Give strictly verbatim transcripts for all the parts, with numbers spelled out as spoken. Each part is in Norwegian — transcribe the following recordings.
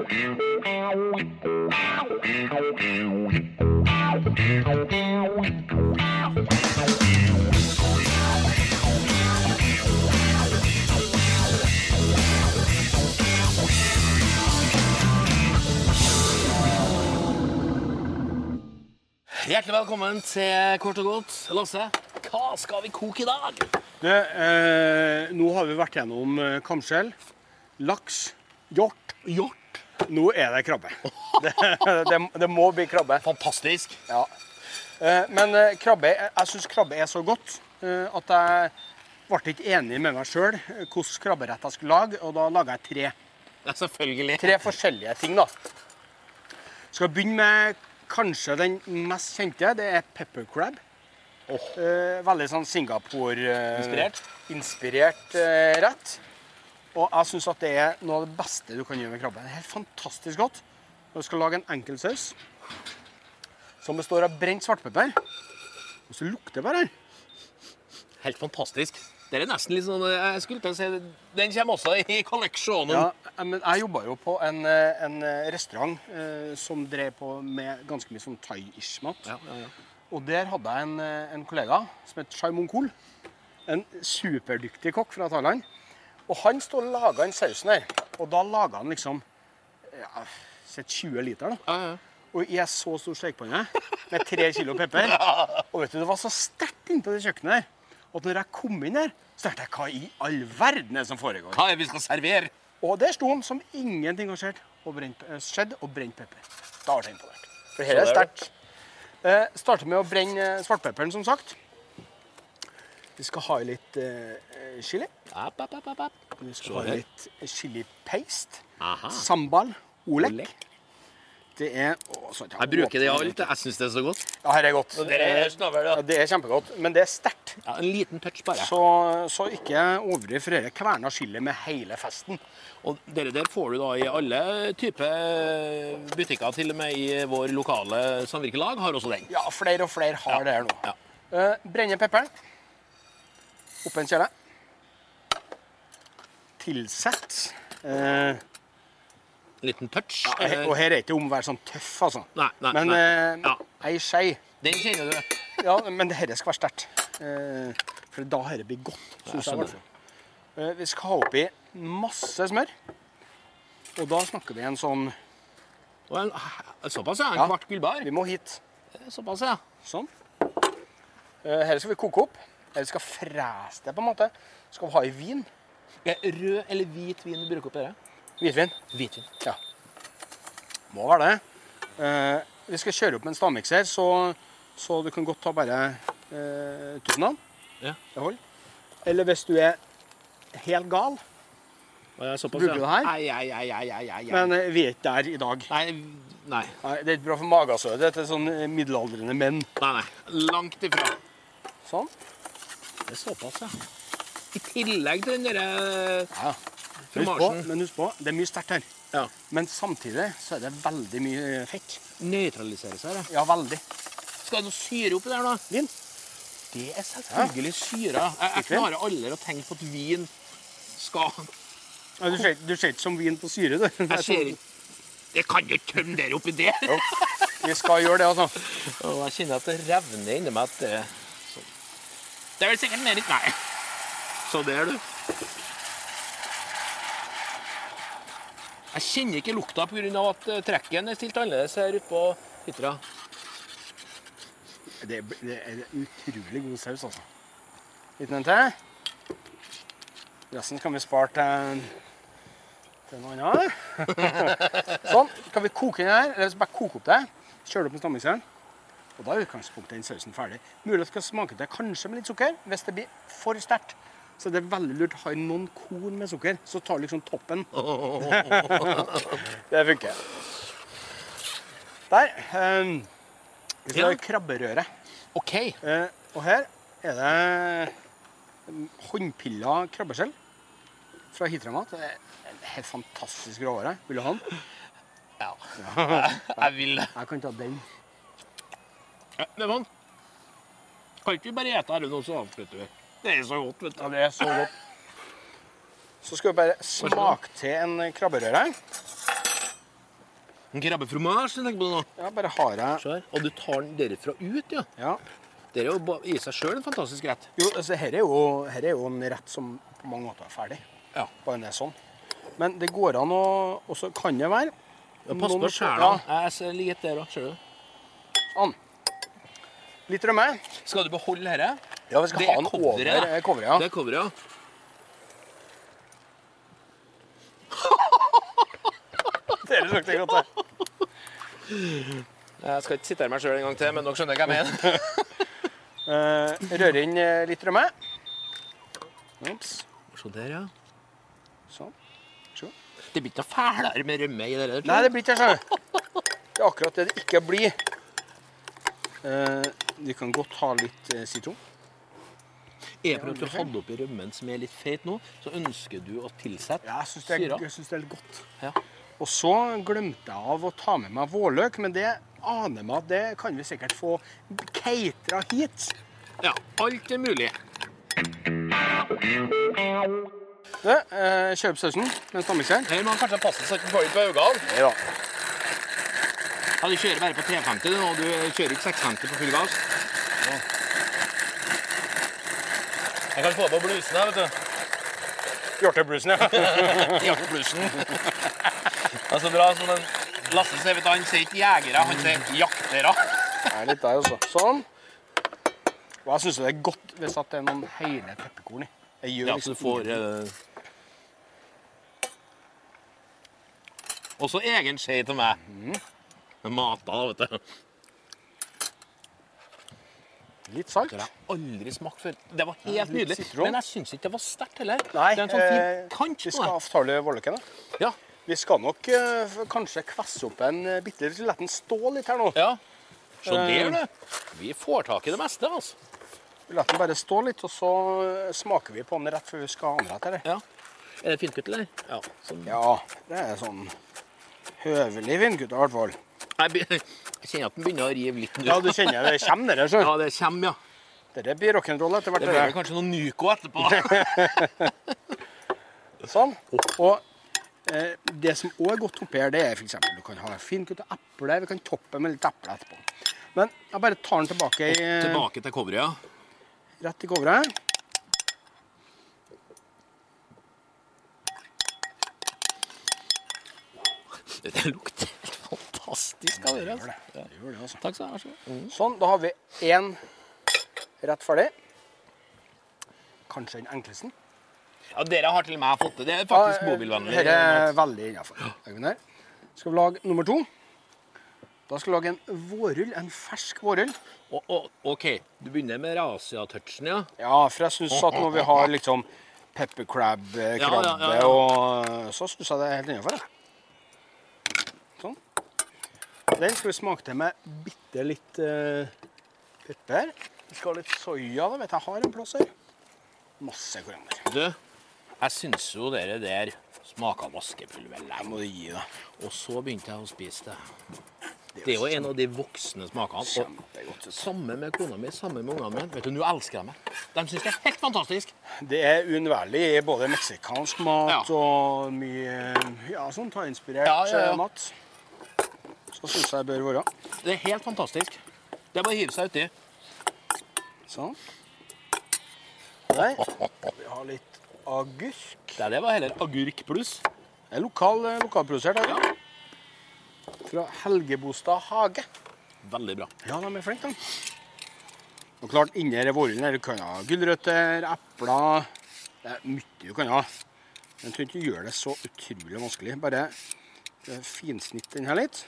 Hjertelig velkommen til Kort og Godt. Lasse, hva skal vi koke i dag? Det, eh, nå har vi vært gjennom eh, kamskjell, laks, hjort. Hjort. Nå er det krabbe. Det, det, det må bli krabbe. Fantastisk. Ja. Eh, men eh, krabbe, jeg synes krabbe er så godt eh, at jeg ble ikke enig med meg selv eh, hvordan krabberett jeg skulle lage, og da laget jeg tre. Ja, selvfølgelig. Tre forskjellige ting da. Skal begynne med kanskje den mest kjente, det er pepper crab. Oh. Eh, veldig sånn Singapore-inspirert Inspirert? inspirert, eh, rett. Og jeg synes at det er noe av det beste du kan gjøre med krabbe. Det er helt fantastisk godt. Og du skal lage en enkelsaus som består av brent svartpepper. Og så lukter det bare. Helt fantastisk. Det er nesten litt sånn, jeg skulle til å si, den kommer også i kolleksjonen. Ja, men jeg jobbet jo på en, en restaurant eh, som drev på med ganske mye sånn thai-ish mat. Ja, ja, ja. Og der hadde jeg en, en kollega som het Chai Mongkol. En superdyktig kokk fra Thailand. Og han stod og laget en sausen her. Og da laget han liksom ja, tjue liter da. Ja, ja. Og i en så stor stekepanne med tre kilo pepper. Og vet du, det var så sterkt inne på det kjøkkenet her. Og når jeg kom inn her, så tenkte jeg, hva i all verden er det som foregår? Hva er det vi skal servere? Og der sto han som ingenting har skjedd, og brent, skjedd og brent pepper. Da var det imponert. For her er det sterkt. Eh, starter med å brenne svartpepperen, som sagt. Vi skal ha i litt eh, chili. App, app, app, app, app. Vi skal ha i litt chili paste. Aha. Sambal, olek. Olek. Det er... Å, så Jeg bruker det i alt, jeg synes det er så godt. Ja, her er godt. Det er snavel, Ja, det er kjempegodt, men det er sterkt. Ja, en liten touch bare. Så, så ikke overdriv, for dette kverner chili med hele festen. Og dere der får du da i alle typer butikker, til og med i vår lokale samvirkelag har også den. Ja, flere og flere har Ja. det her nå. Ja. Uh, brenne pepperen. Opp en kjele. Tilsett. Uh, En liten touch. ja, he- og her er det ikke om å være sånn tøff, altså. Nei, nei, Men nei. uh, Ja. ei skei. Den kjenner du. Ja, men det her skal være sterkt. Uh, for da her blir godt, Ja, synes jeg. skjønner. i hvert fall. Uh, vi skal ha oppi masse smør. Og da snakker vi en sånn... Og en, såpass, ja. En Ja. kvart gullbar. Vi må hit. Såpass, ja. Sånn. Uh, her skal vi koke opp. Her skal frese det, på en måte. Skal vi ha i vin. Er rød eller hvit vin du bruker oppi det? Hvitvin. Hvitvin. Ja. Må være det. Uh, vi skal kjøre opp med en stavmikser, så, så du kan godt ta bare uh, tusen av. Ja. Det holder. Eller hvis du er helt gal, Og jeg er såpass, Bruker du det her? Ai, ai, ai, ai, ai, ai. men uh, vi er ikke der i dag. Nei, nei, Nei, det er ikke bra for magasødet. Det er sånn uh, middelaldrende menn. nei, nei. Langt ifra. Sånn. Det er såpass, ja. I tillegg til den der Ja. Husk på, fromasjen. men husk på, det er mye sterkt her. Ja. Men samtidig så er det veldig mye fett. Nøytraliserer seg, ja. Ja, veldig. Skal det noe syre oppi der, da? Vin. Det er selvfølgelig syre. Jeg, jeg Ikke? klarer aldri å tenke på at vin skal... Ja, du ser, du ser ikke som vin på syre, du. Jeg ser ikke... Jeg kan jo ikke tømme dere oppi det. Jo, vi skal gjøre det, altså. Og jeg kjenner at det revner inni meg at det... Sånn. Det er vel sikkert mer litt... Nei. Så der, du. Jeg kjenner ikke lukta på grunn av at eh, trekken er stilt annerledes her ute på hytra. Det, det er en utrolig god saus, altså. Litt en til. Resten kan vi spare til, til noe annet. Sånn, kan vi koke den her, eller så bare koke opp det. Kjøre det opp med stammikseren. Og da er utgangspunktet den sausen ferdig. Mulig at det skal smake det kanskje med litt sukker, hvis det blir for sterkt. Så det er veldig lurt å ha i noen korn med sukker, så tar du liksom toppen. Det funker. Der. Um, vi skal Ja. ha krabberøre. Ok. Eh, og her er det håndpilla krabbeskjell fra Hitramat. Det er en helt fantastisk råvare. Vil du ha den? Ja. Jeg vil det. Jeg kan ta den. Ja, det var den. Kan ikke vi bare ete her nå, så avslutter vi. Det er så godt, vet du. Ja, det er så godt. Så skal vi bare smake til en krabberøre. En krabbefromage, tenker på det nå. Ja, bare har jeg... Se her. Og du tar den derifra ut, ja. Ja. Det er jo ba- i seg selv en fantastisk rett. Jo, altså, her er jo, her er jo en rett som på mange måter er ferdig. Ja. Bare den er sånn. Men det går an å... Og så kan det være... Ja, pass på noen- skjæla. Ja, Jeg ser litt der også, ser du. sånn. Litt rømme. Skal du beholde dette? Ja, vi skal Det ha er den coveret, over da. eh, coveret, ja. Det er coveret, ja. Det er det godt, det. Jeg skal ikke sitere meg selv en gang til, men dere skjønner hva jeg mener. Eh, rør inn eh, litt rømme. Ops. Se der, ja. Sånn. Se. Det blir ikke noe fælere med rømme i det der. Nei, det blir ikke sånn. Det er akkurat det det ikke blir. Eh, vi kan godt ha litt eh, sitron. Er det for at du hadde oppi rømmen som er litt feit nå, så ønsker du å tilsette Ja, jeg synes det, er, syra. jeg synes det er litt godt. Ja. Og så glemte jeg av å ta med meg vårløk, men det aner meg at det kan vi sikkert få keitra hit. Ja, alt er mulig. Du, eh, kjøp sausen med en stammikseren. Her må man kanskje passe så ikke får litt på øynene. Nei da. Ja, du kjører bare på tre femti nå, du kjører ikke seks femti på full gass. Ja. Jeg kan få på blusen her, vet du. Hjorteblusen, ja. Ja, på blusen. Det er så bra, sånn en Lasse sier, vet du, han sier ikke jegere, han sier jaktere. Det er litt der også. Sånn. Og jeg synes det er godt hvis at det er noen hele pepperkorn i. Jeg gjør Ja, så du får... Eh... Også egen skje til meg. Mm. Med mata, da, vet du. Litt salt. Det har jeg aldri smakt før. Det var helt Ja, litt nydelig. sitron. Men jeg synes ikke det var sterkt heller. Nei, det er en sånn fin eh, kant vi på skal det. avtale vårløken da. Ja, Vi skal nok eh, f- kanskje kvesse opp en uh, bitte litt, la den stå litt her nå. ja. Så Eh. der, du. Vi får tak i det meste, altså. Vi lar den bare stå litt, og så eh, smaker vi på den rett før vi skal ha den rett her. Ja. Er det finkutt, eller? Ja. Sånn. Ja, det er sånn høvelig vindgutt i hvert fall. Jeg, be- jeg kjenner at den begynner å rive litt nå. Ja, du kjenner det kommer det, så. Ja, det kommer, ja. Dette blir rock'n'roll etter hvert. Det blir vel Det kanskje noe Nyko etterpå. sånn. Og eh, det som også er godt oppi her, det er for eksempel, du kan ha finkutt og eple, vi kan toppe med litt eple etterpå. Men jeg bare tar den tilbake, i, Tilbake til coveret, ja. rett i coveret. Det lukter helt fantastisk av det. Gjør Altså. det. Det gjør det, altså. Takk skal du ha. vær så god. Sånn, da har vi en rett ferdig. Kanskje den enkleste. Ja, dere har til og med fått det. Det er faktisk bobilvennlig. Dette er veldig innenfor. Legger vi den her. Skal vi lage nummer to. Da skal vi lage en vårrull, en fersk vårrull. Og, og, ok, du begynner med rasia-touchen, ja. Ja, for jeg synes at når vi har liksom pepper crab, eh, Ja, krabbe, ja, ja, ja. og så synes jeg det er helt innenfor. Ja. Sånn. Den skal vi smake til med bitte litt eh, pepper. Vi skal ha litt soja, da vet jeg, jeg har en plass her. Masse koriander. Du, jeg synes jo dere der smaker vaskepulver Jeg lenge. må gi det. Og så begynte jeg å spise det. Det er jo en av de voksne smakene. Og Kjempegodt. samme med kona mi, samme med ungene mine. Vet du, nå elsker jeg meg. De synes det er helt fantastisk. Det er uunnværlig i både meksikansk mat Ja. og mye ja, sånn thai-inspirert Ja, ja, ja. eh, mat. Så synes jeg det bør være. Det er helt fantastisk. Det er bare å hive seg uti. Sånn. Der. Vi har litt agurk. Det, det var heller agurk pluss. Det er lokal, eh, lokalprodusert her. Ja. Fra Helgebostad hage. Veldig bra. Ja, de er flinke, de. Og klart, inni her vårrullen her, du kan ha gulrøtter, epler. Det er mye du kan ha. Men jeg tror ikke du gjør det så utrolig vanskelig. Bare eh, finsnitt den her litt.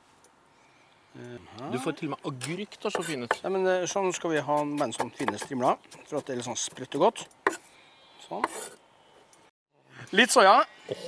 Du får til og med agurk til å se fin ut. Nei, men eh, sånn skal vi ha en sånn fine strimler, for at det er litt sånn sprøtt og godt. Sånn. Litt soja.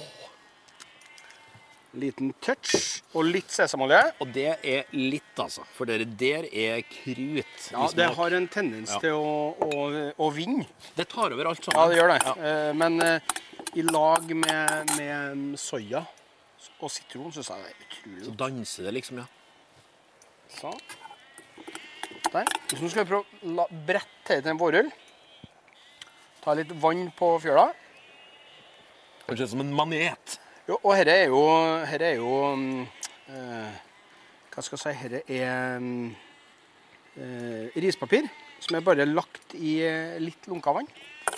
Liten touch og litt sesamolje. Og det er litt, altså. For dere der er krut. Ja, i det smak. har en tendens Ja. til å, å, å vinne. Det tar over alt Ja, sammen. det gjør det. Ja. Eh, Men eh, i lag med, med soja og sitron synes jeg det er utrolig Så godt. danser det liksom, ja. Sånn. Der. Så nå skal vi prøve å la brette til en vårrull. Ta litt vann på fjøla. Det ser ut som en manet. Jo, og her er jo, her er jo mm, eh, hva skal jeg si, her er eh, rispapir, som er bare lagt i eh, litt lunka vann.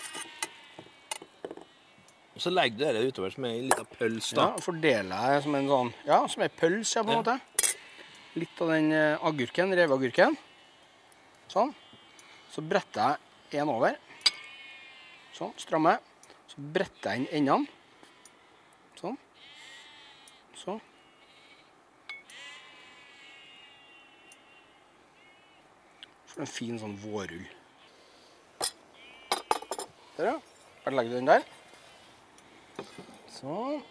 Og så legger du det utover som er en liten pøls da. Ja, fordeler jeg som en sånn, ja, som en pøls, ja, på en Ja. måte. Litt av den eh, agurken, reveagurken. Sånn. Så bretter jeg en over. Sånn, strammer. Så bretter jeg inn endene. Sånn. Sånn. For en fin sånn vårrull. Der, ja. Bare legger du den der. Sånn.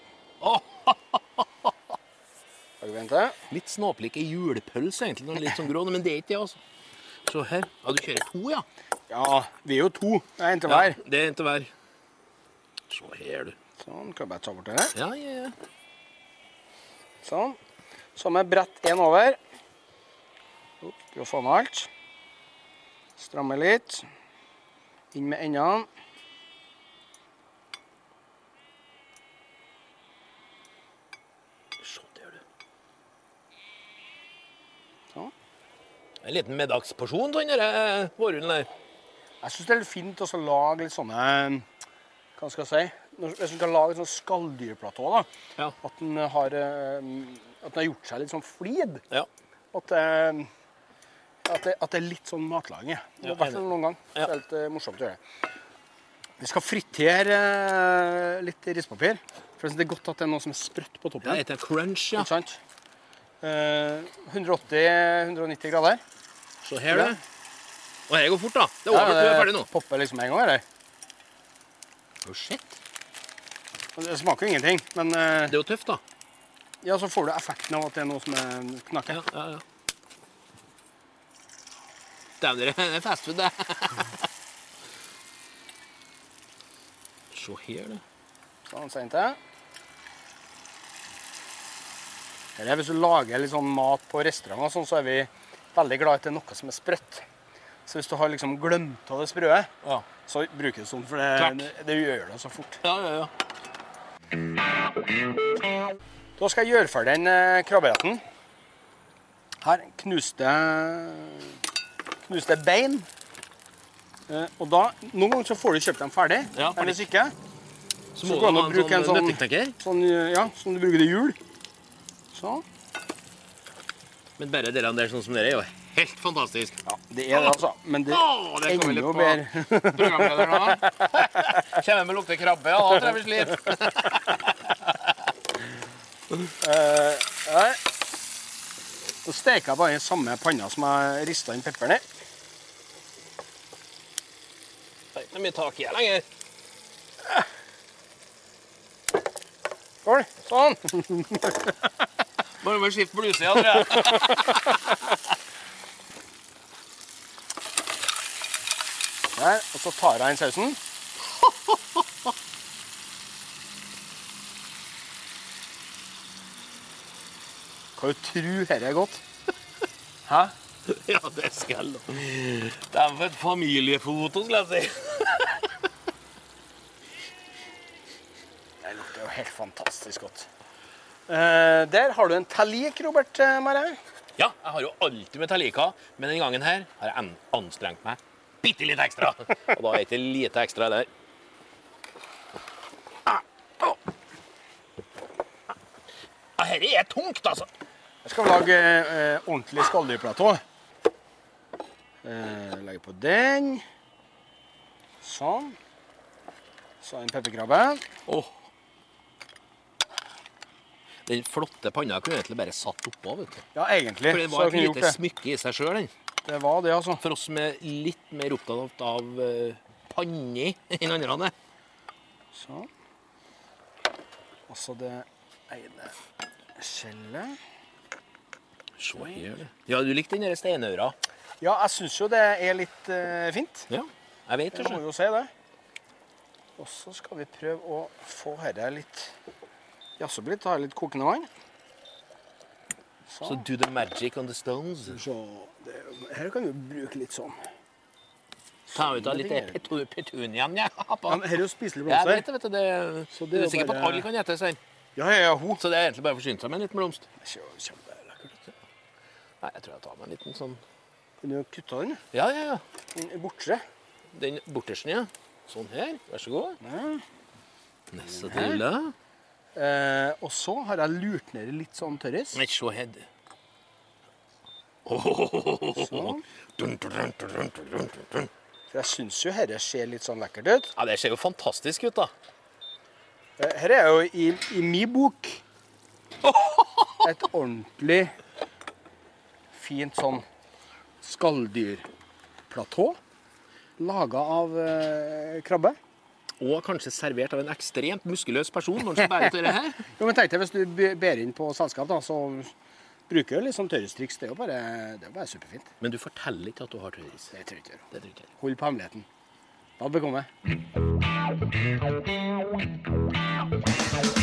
Lager vi en til. Litt snåplik i julepøls egentlig, den er litt sånn grå, men det er ikke det altså. Så her, ja, du kjører to, ja. Ja, vi er jo to. Det er en til Ja, hver. det er en til hver. Så her, du. Sånn, kan jeg bare ta bort det. Ja, ja, ja. Sånn. Så med brett en over. Opp, skal vi få med alt. Stramme litt. Inn med endene. Se der, du. Sånn. En liten middagsporsjon, sånn der, vårrullen der. Jeg synes det er litt fint også å lage litt sånne, hva skal jeg si, Når- hvis du skal lage et sånn skalldyrplatå da, Ja. at den har, eh, at den har gjort seg litt sånn flid. Ja. At, eh, at, det, at det er litt sånn matlaging. Det Ja, har vært enig. noen gang. Ja. Det er litt eh, morsomt å gjøre. Vi skal fritere eh, litt rispapir. For jeg synes det er godt at det er noe som er sprøtt på toppen. Det heter crunch, ja. Ikke sant? Eh, hundre åtti til hundre nitti grader. Så her, du. Og her går fort, da. Det er over, Ja, du er ferdig nå. popper liksom en gang, eller? Oh, shit. Det smaker jo ingenting, men eh, Det er jo tøft, da. ja, så får du effekten av at det er noe som er knakker. Ja, ja, ja. Dæven, det er fast food, det. Se her, du. Sånn, sen til. Her er, hvis du lager litt sånn mat på restauranter, og sånn, så er vi veldig glad i at det er noe som er sprøtt. Så hvis du har liksom glemt av det sprøet, Ja. så bruker du sånn, for Klart. det, det, det gjør det så fort. Ja, ja, ja. Da skal jeg gjøre ferdig den eh, krabberetten. Her knuste, knuste bein. Eh, og da, noen ganger så får du kjøpt dem ferdig, Ja, men hvis ikke, Så Så må går du det ha an å bruke en en sånn sånn- nøtteknekker. sånn, eh, ja, sånn du bruker det i jul. Sånn. Men bare dere der sånn som dere er jo helt fantastisk. Ja, det er det altså, men det Åh, det er kommer litt enda på bedre. programlederen da. Kommer med lukte krabbe, ja, da tror jeg vi sliter. Eh, her. Så steker jeg bare i samme panna som jeg ristet inn pepperen i. Det er ikke mye tak i her lenger. Skål, sånn. Bare med skift bluse, ja, tror jeg. Der, og så tar jeg inn sausen. Kan du tro her er godt? Hæ? Ja, det skal jeg da. Det er for et familiefoto, skal jeg si. Det lukter jo helt fantastisk godt. Eh, der har du en talik, Robert eh, Mare. Ja, jeg har jo alltid med talika, men denne gangen her har jeg an- anstrengt meg bitte litt ekstra. Og da er det ikke lite ekstra der. Ja, her er tungt, altså. Jeg skal lage eh, ordentlig skalldyrplatå. Eh, legge på den. Sånn. Så en pepperkrabbe. Åh. Den flotte panna kunne egentlig bare satt oppå, vet du. Ja, egentlig. For det så var jeg et kunne gjort lite det. smykke i seg selv, den. Det var det, altså. For oss som er litt mer opptatt av uh, panni enn andre. Sånn. Og så det ene skjellet. Se her, du. Ja, du likte den der steinaura. Ja, jeg synes jo det er litt eh, fint. Ja, jeg vet det. Jeg må jo si det. Og så skal vi prøve å få dette litt jazze opp litt, ta litt kokende vann. Så Sånn. do the magic on the stones. Så det, her kan vi bruke litt sånn. Ta ut av litt petu- petuniaen, ja. Ja, men her er jo spiselig Jeg vet blomster. det, vet du. Det, Så du det er er jo sikker på at bare- alle kan gjette seg. Ja, ja, ja, hun. Så det er egentlig bare å forsyne seg med en liten blomst. Det er kjempe- kjempelekkert. Nei, jeg tror jeg tar meg en liten sånn... Kunne du kutta den? Ja, ja, ja. Den bortre. Den bortersen, ja. Sånn her. Vær så god. Ja. Neste til da. Eh, og så har jeg lurt ned litt sånn tørris. Nei, se her. Sånn. Dun, dun, dun, dun, dun, dun, dun. For jeg synes jo dette ser litt sånn lekkert ut. Ja, det ser jo fantastisk ut, da. Eh, Her er jo i, i min bok et ordentlig fint sånn skalldyrplatå laget av eh, krabbe. Og kanskje servert av en ekstremt muskuløs person når han skal bære til det her. Jo, men tenk deg, hvis du be- ber inn på selskap, da, så bruker du litt sånn tørrestriks. Det er jo bare, det er jo bare superfint. Men du forteller ikke at du har tørris. Det tror jeg ikke. Det tror ikke jeg. Hold på hemmeligheten. Da bekommer jeg.